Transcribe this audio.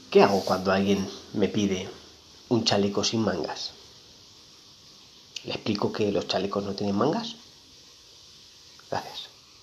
¿Qué hago cuando alguien me pide un chaleco sin mangas? ¿Le explico que los chalecos no tienen mangas? Gracias.